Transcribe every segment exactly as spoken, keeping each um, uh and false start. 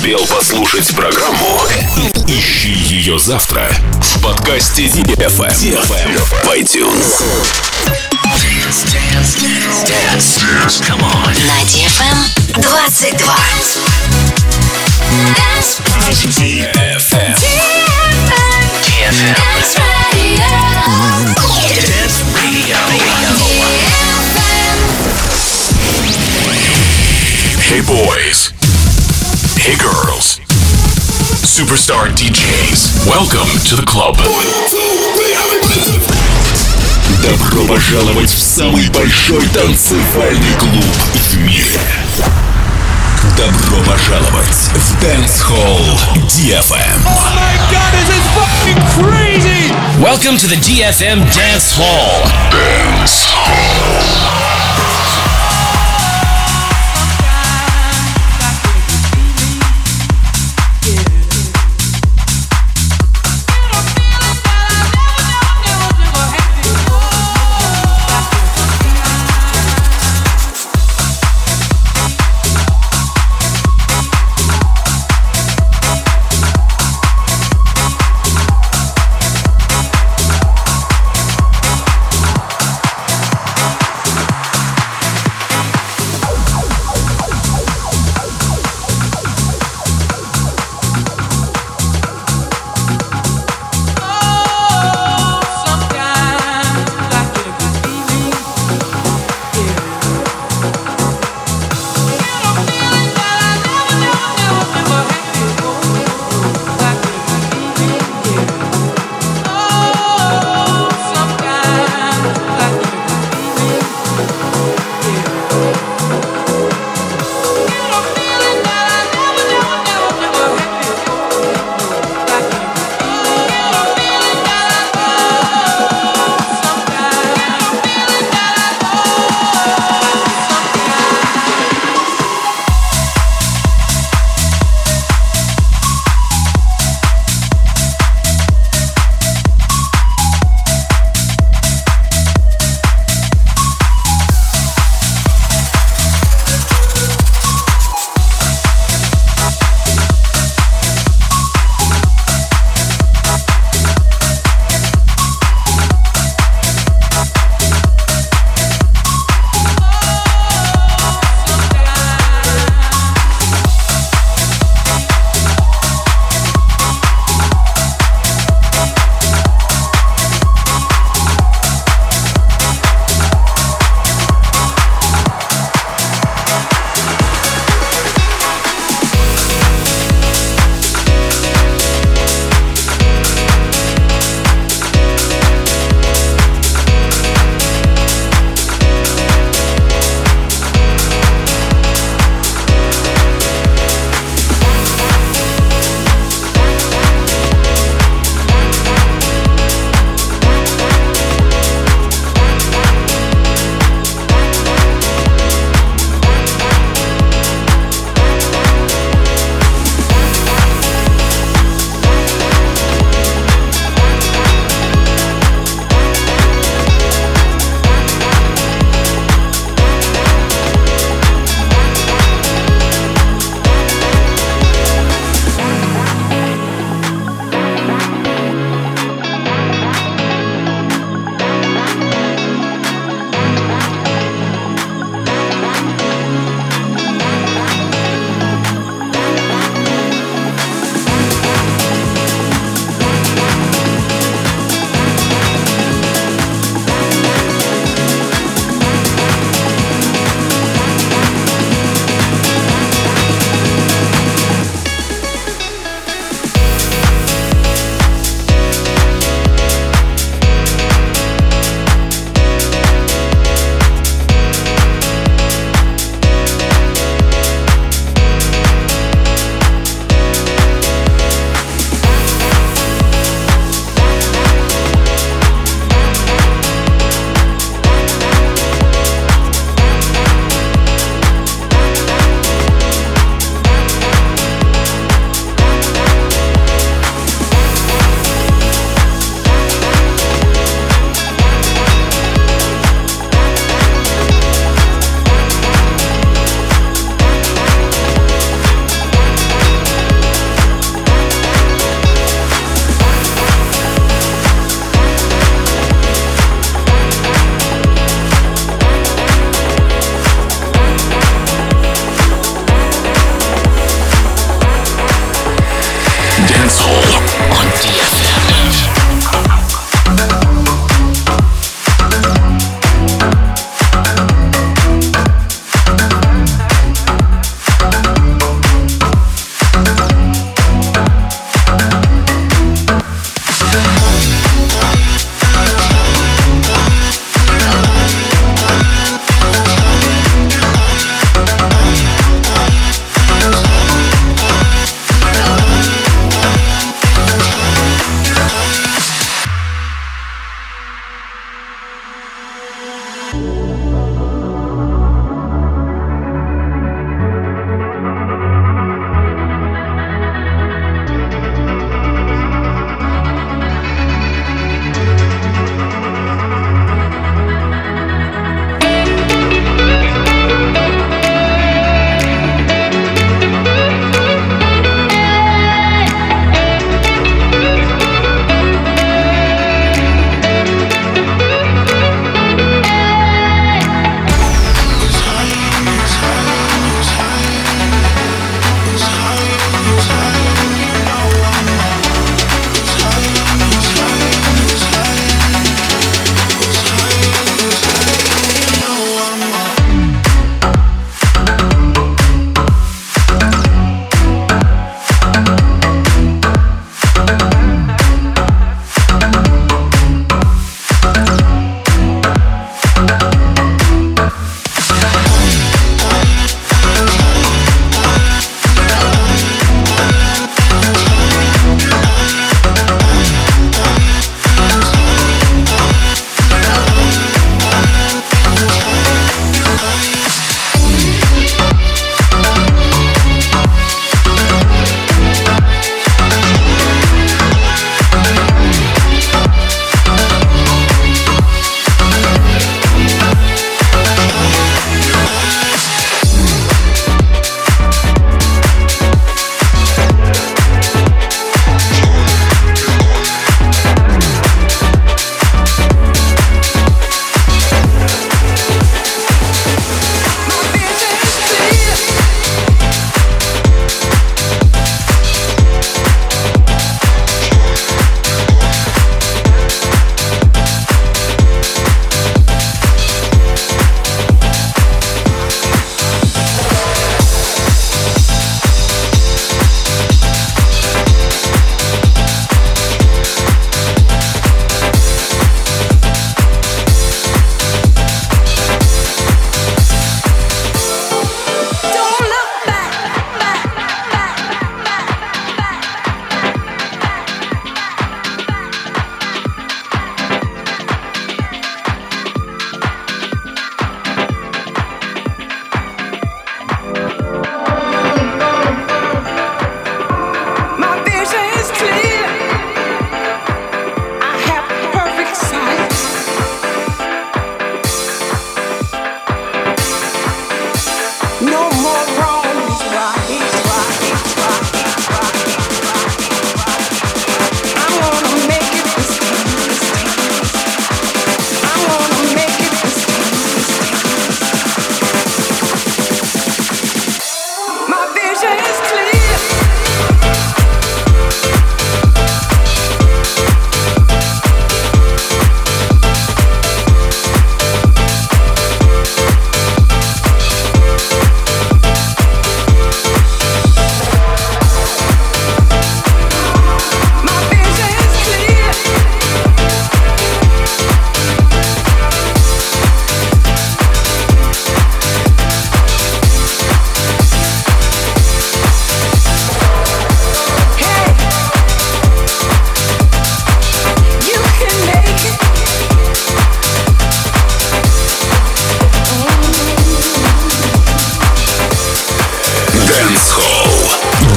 успел послушать программу, ищи ее завтра в подкасте ди эф эм в iTunes. Dance, dance, dance, dance. Come on. На ди эф эм двадцать два. ди эф эм. ди эф эм. Dance Radio. Hey boys. Hey girls. Superstar ди джейс. Welcome to the club. Добро пожаловать в самый большой танцевальный клуб в мире. Добро пожаловать в Dance Hall ди эф эм. Oh my God, this is fucking crazy! Welcome to the ди эф эм Dance Hall. Dance Hall.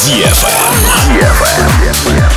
ди эф эм. ди эф эм.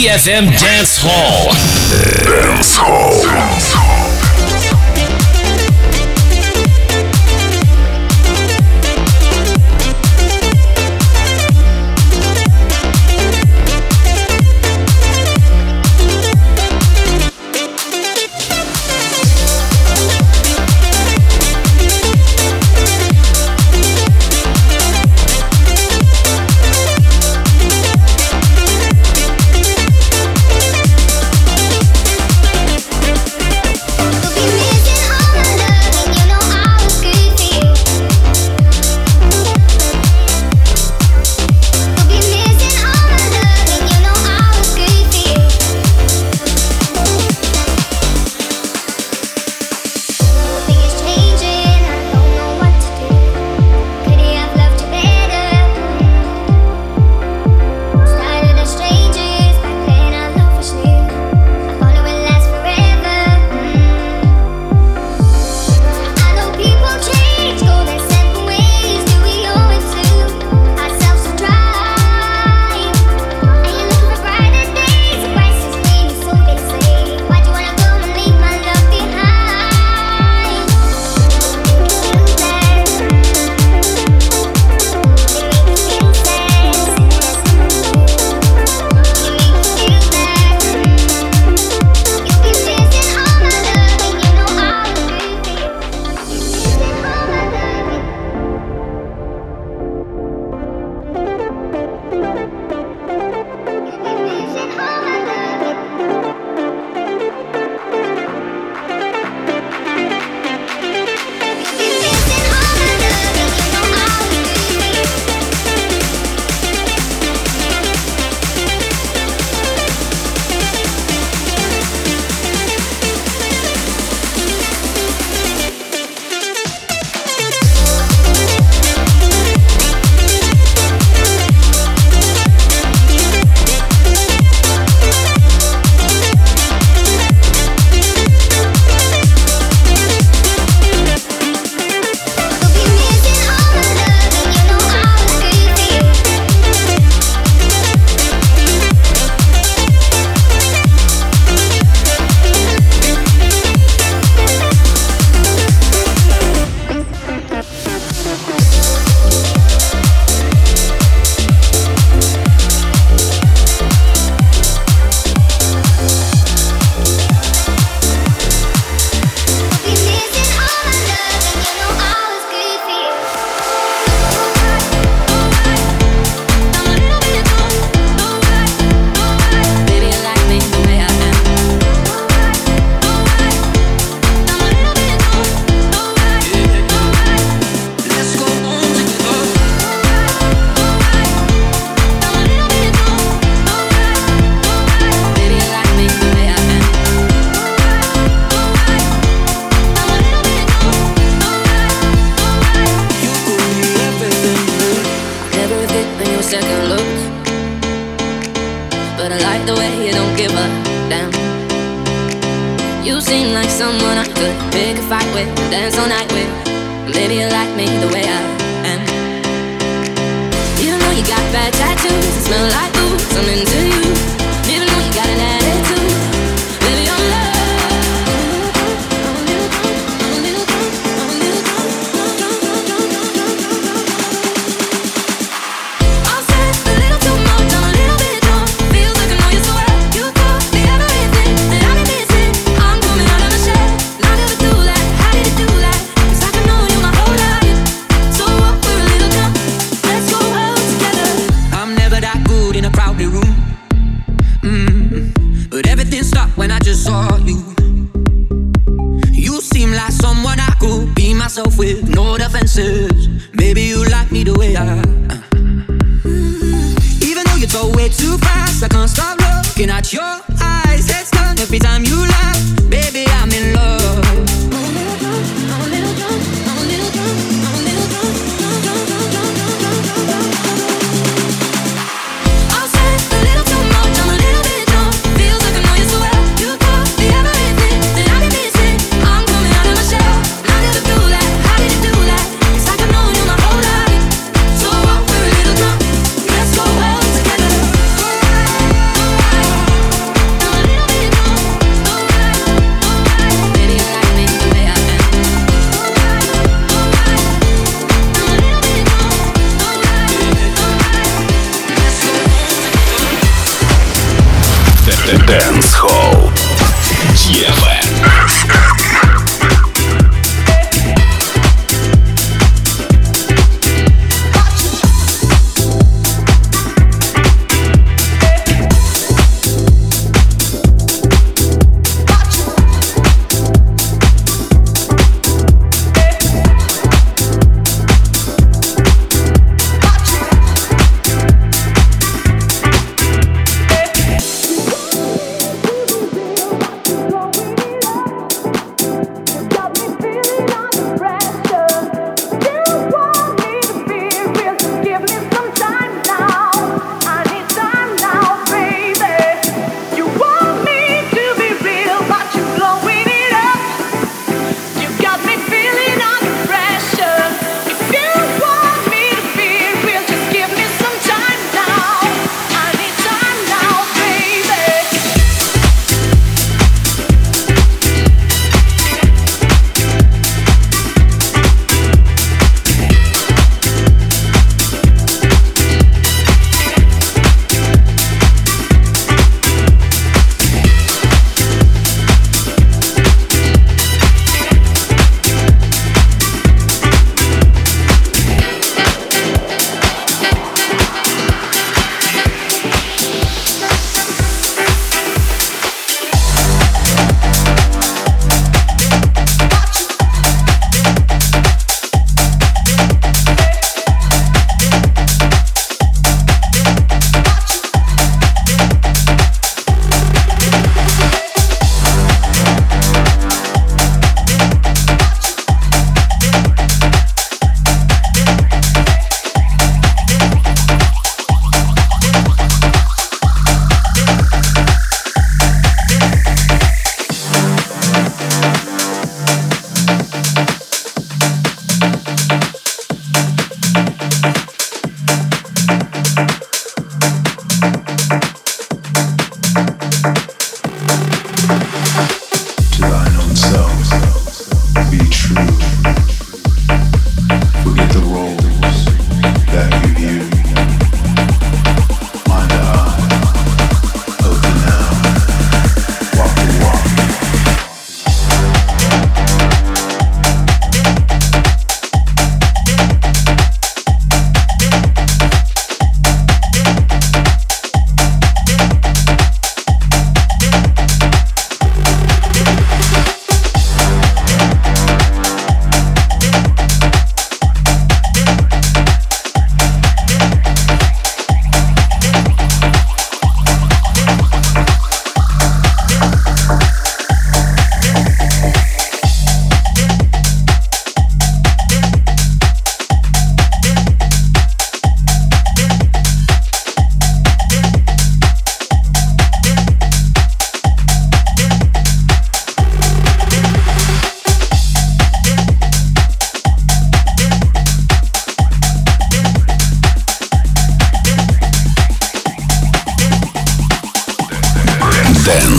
D F M Dance Hall. Dance Hall. Dance Hall.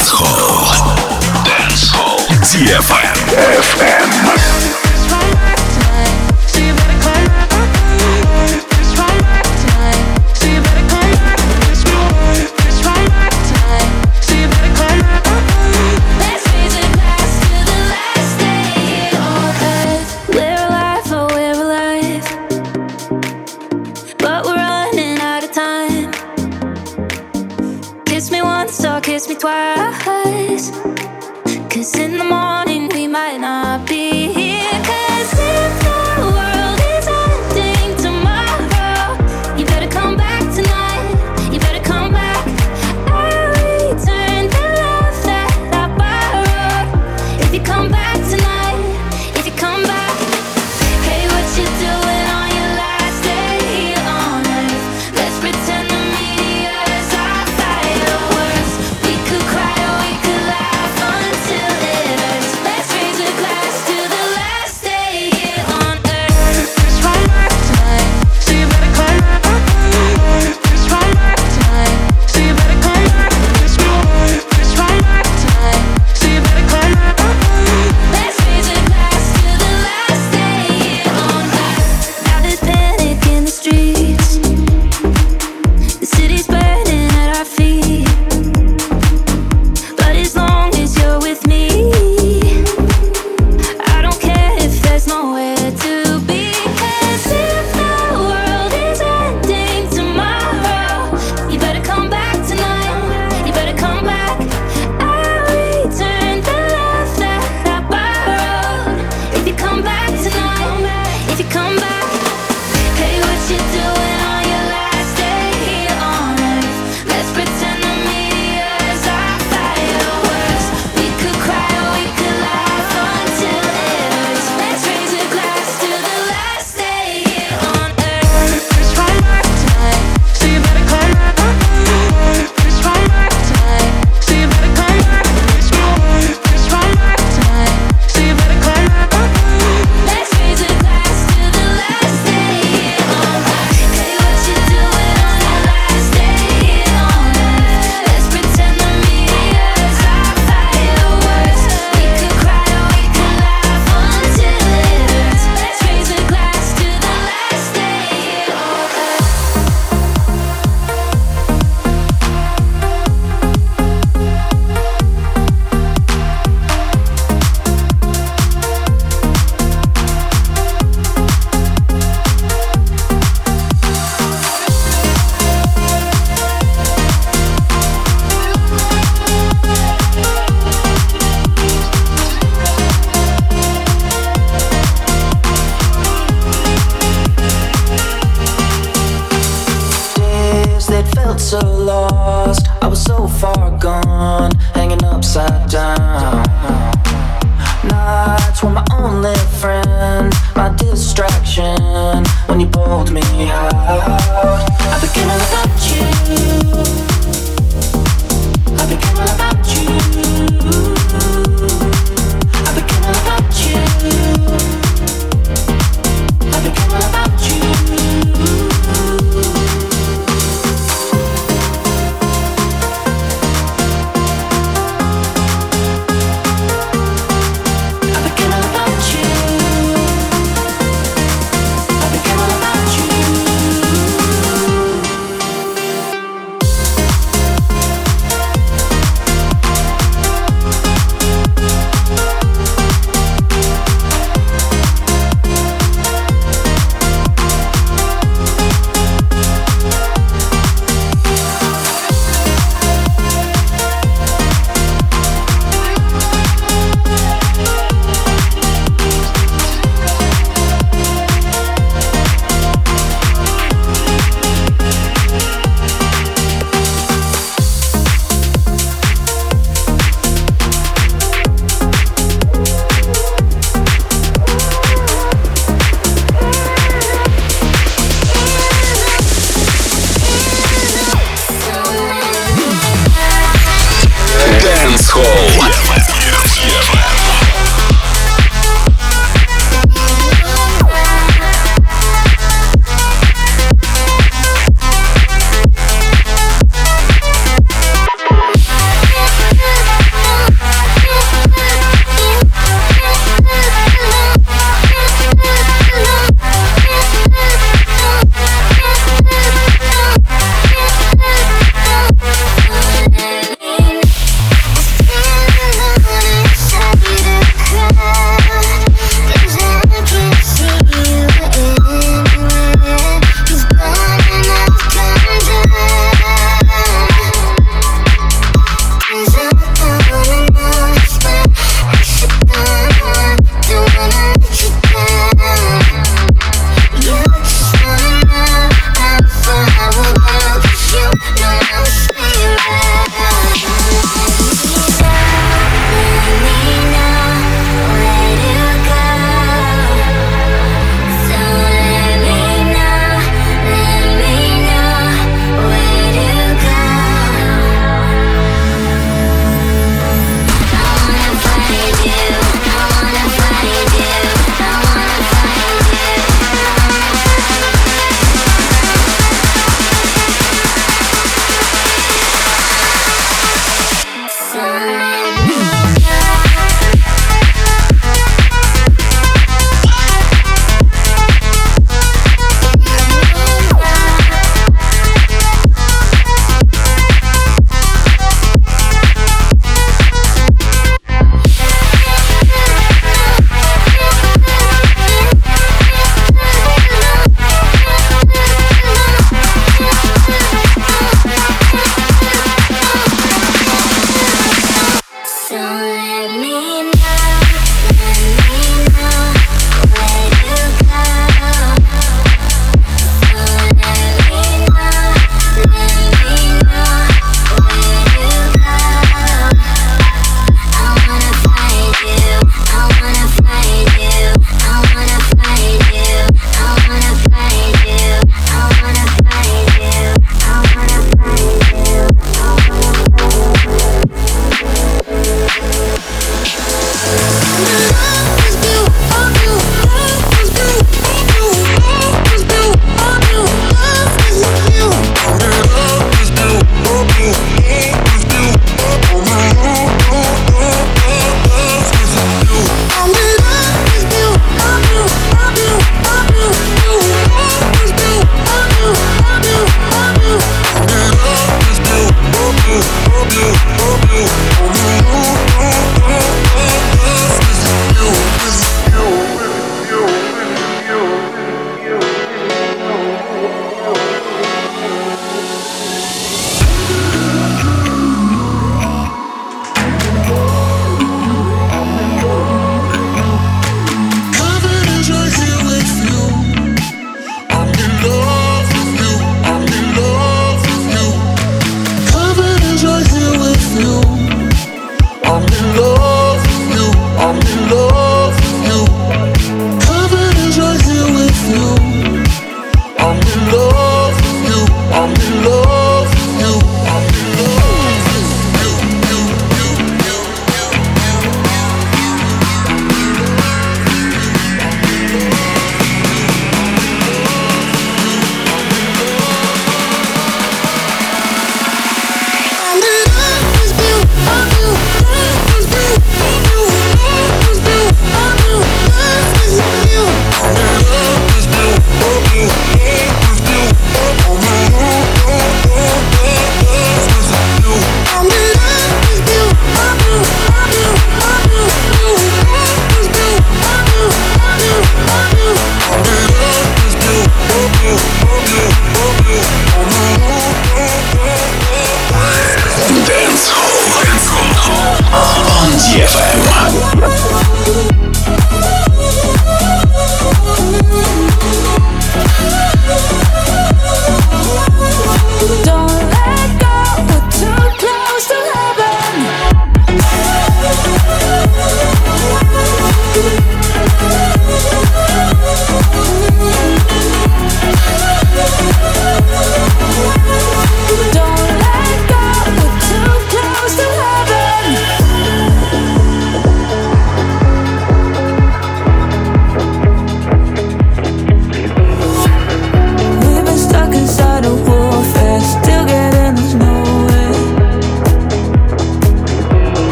Dance Hall. Dance Hall. ди эф эм. эф эм. Kiss me twice, 'cause in the morning we might not be here. 'Cause if the world is ending tomorrow, you better come back tonight. You better come back. I'll return the love that I borrowed. If you come back tonight, if you come back. Hey, what you doing on your last day here on earth? Let's pretend the meteors are fireworks. We could cry or we could laugh until it hurts. Let's raise a glass to the last day here on earth. It's right back tonight, so you better come back. It's right back tonight, so you better come back. It's right back tonight, so you better come back. Let's raise a glass to the last day here on earth. Now there's panic in the streets. The city's burning at our feet. But as long as you're with me, I don't care if there's nowhere to be. 'Cause if the world is ending tomorrow, you better come back tonight. You better come back. I'll return the love that I borrowed. If you come back tonight, if you come back. Hey, what you doing on your last day here on earth? Let's pretend the meteors are fireworks. We could cry or we could laugh until it hurts. Let's raise a glass to the last day here on earth. It's right back tonight, so you better come back. It's right back tonight, so you better come back. It's right back tonight, so you better come back. Let's raise a glass to the last day here on earth. Hey, what you doing on your last day here on earth? Let's pretend the meteors are fireworks. We could cry or we could laugh until it hurts. Let's raise a glass to the last day here on earth. Days that felt so lost, I was so far gone, hanging upside down. Nights were my only friend, my distraction, when you pulled me out. I became all about you. I became all about you. I became all about you. I became all about you. I became all about you. I became all about you.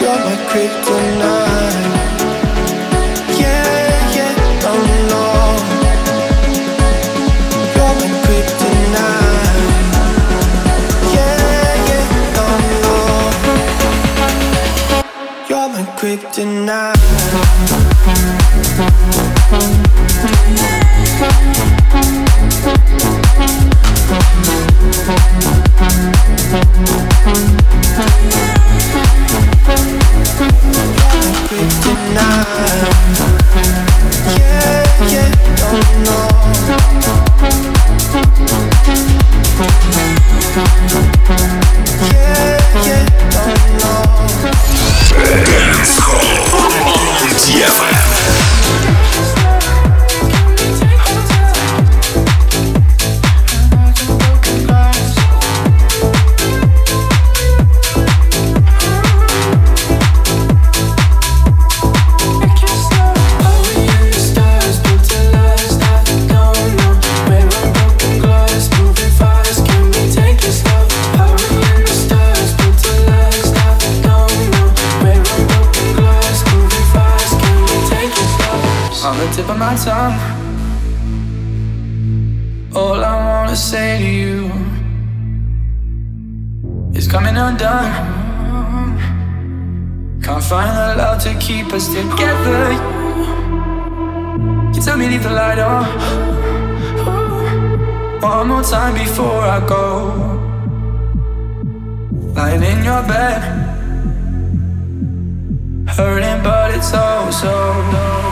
You're my kryptonite. Yeah, yeah, no, no. You're my kryptonite. Yeah, yeah, no, no. You're my kryptonite. All I wanna say to you is coming undone. Can't find the love to keep us together. You tell me leave the light on one more time before I go. Lying in your bed, hurting but it's oh so low.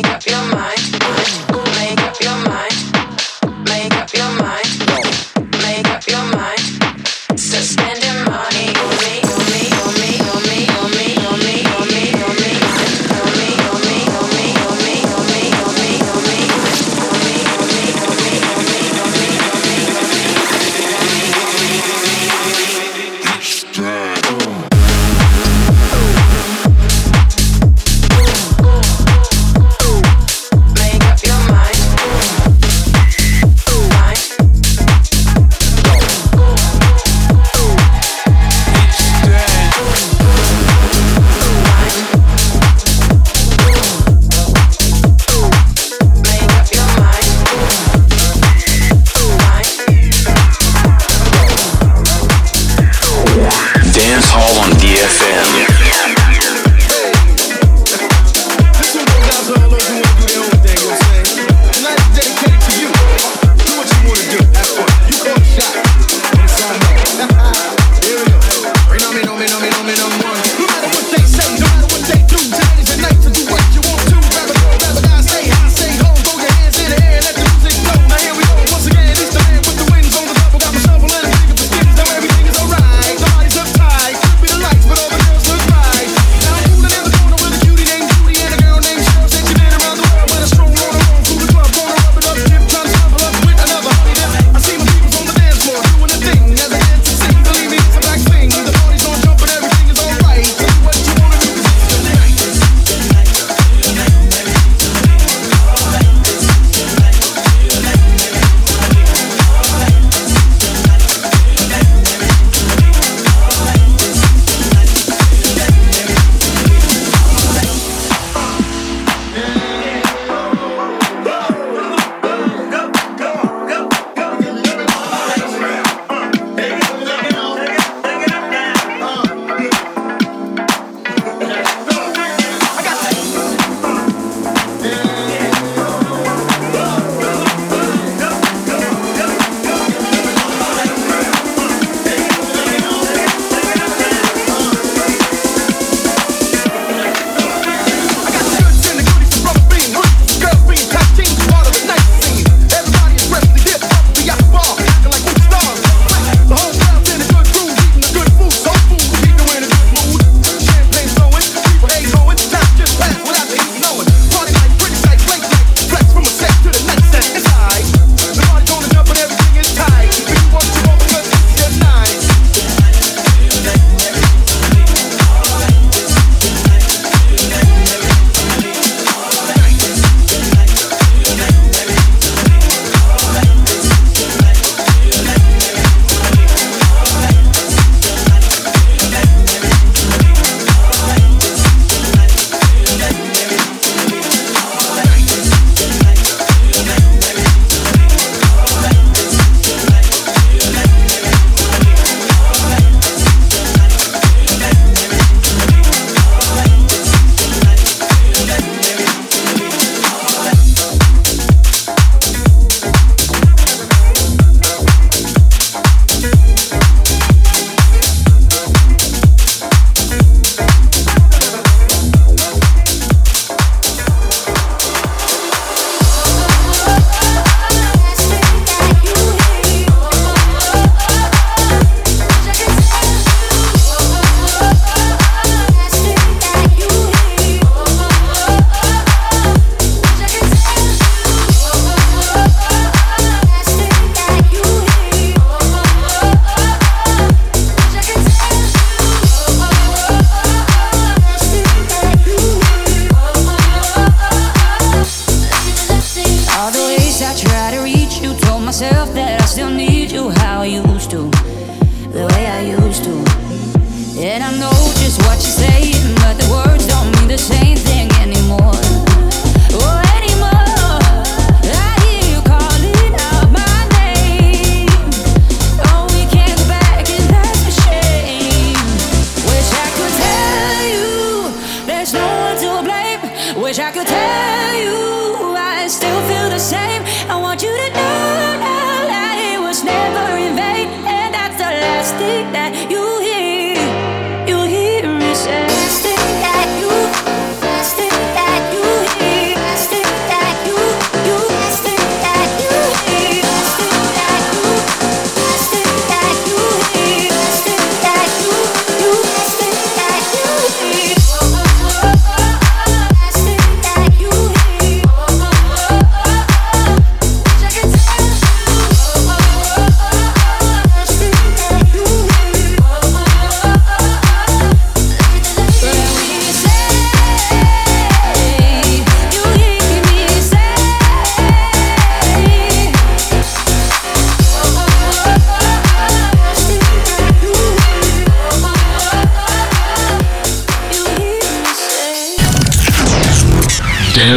That you, that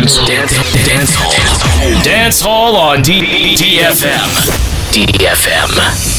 Dance, dance, dance hall. Dance hall on D F M. D F M.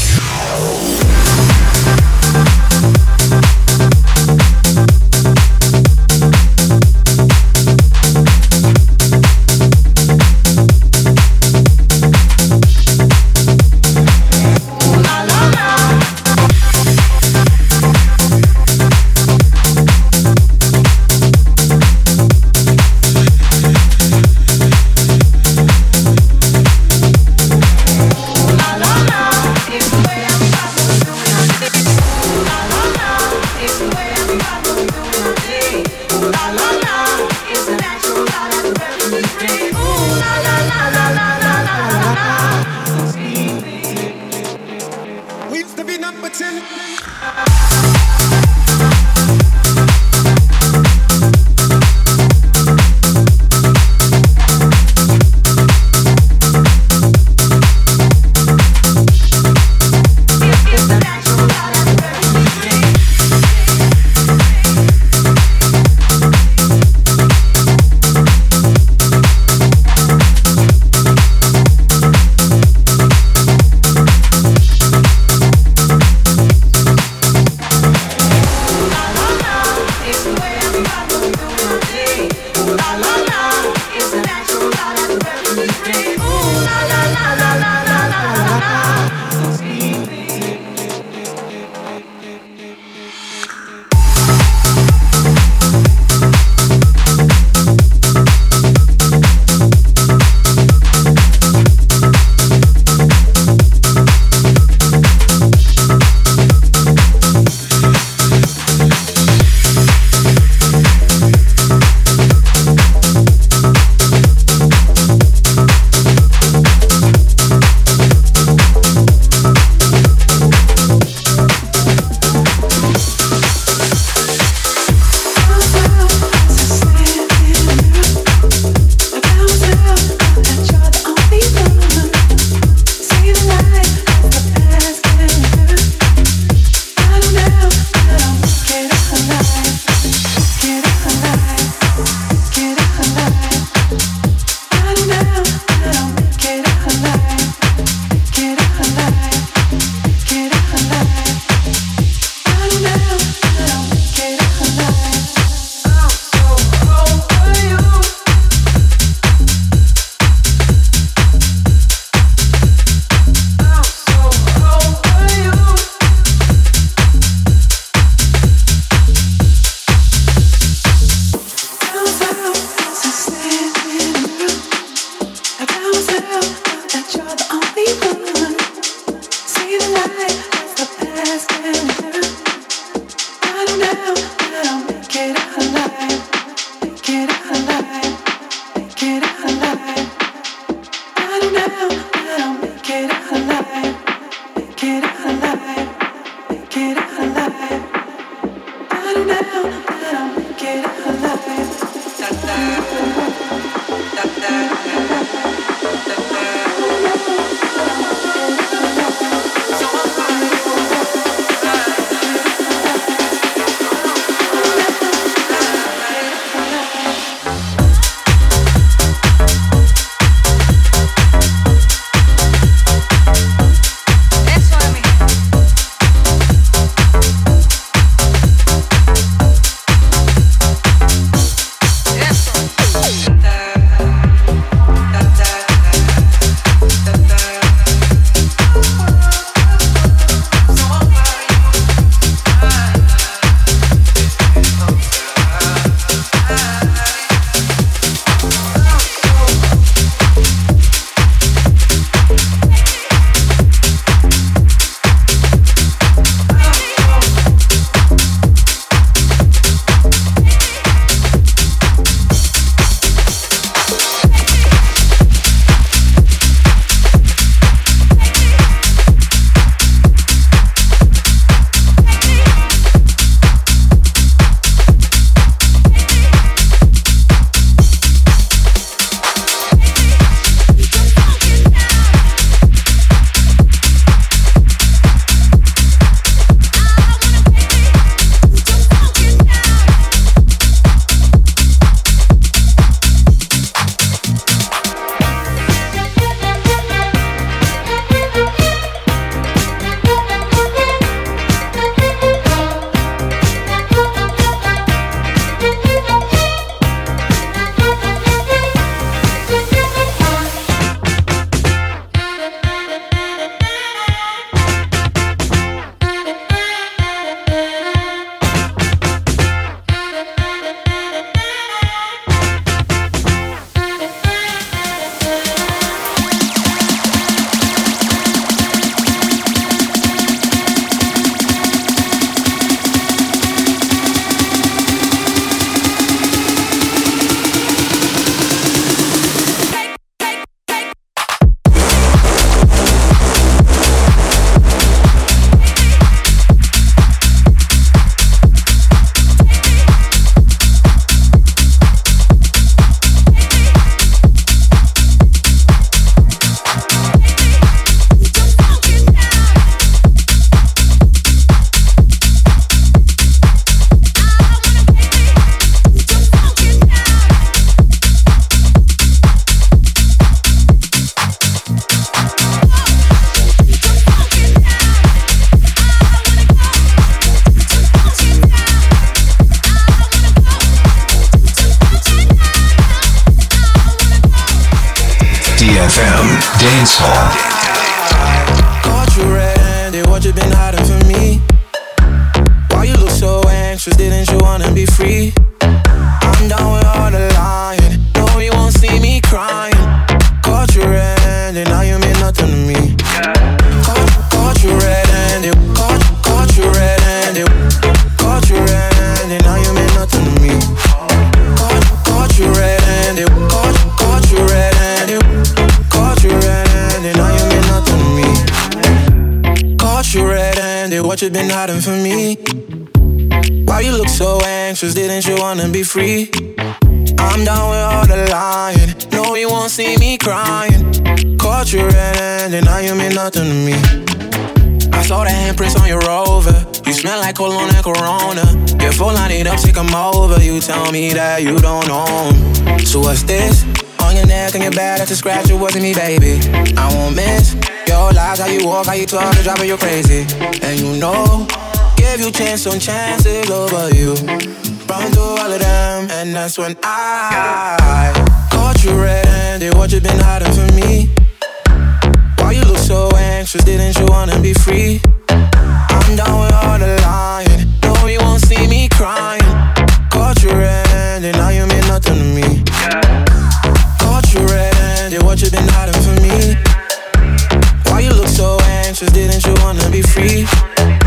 ди эф эм Dance Hall. Caught you red-handed, what you been hiding from me? Why you look so anxious, didn't you wanna be free? I'm down with all the lying, no you won't see me crying. Caught you red-handed, now you mean nothing to me. Caught, caught you red-handed, caught, caught you red-handed. Caught you red-handed, now you mean nothing to me. Caught, caught you red-handed, caught, caught you red-handed. Caught you red-handed, now you mean nothing to me. Caught you red-handed, what you been hiding from me? Why you look so anxious, didn't you wanna be free? I'm down with all the lying, no you won't see me crying. Caught you red-handed, now you mean nothing to me. I saw the handprints on your Rover, you smell like cologne and Corona. Your phone line it up, say come over, you tell me that you don't own. So what's this? On your neck and your back, that's a scratch, it wasn't me, baby. I won't miss your lies, how you walk, how you talk, you're driving you crazy. And you know, give you chance on chances over you. Run through all of them, and that's when I caught you red-handed, what you been hiding from me? Why you look so anxious, didn't you wanna be free? I'm down with all the lying, no you won't see me crying. Caught you red-handed, now you mean nothing to me. Caught you red-handed, what you been hiding from me? Why you look so anxious, didn't you wanna be free?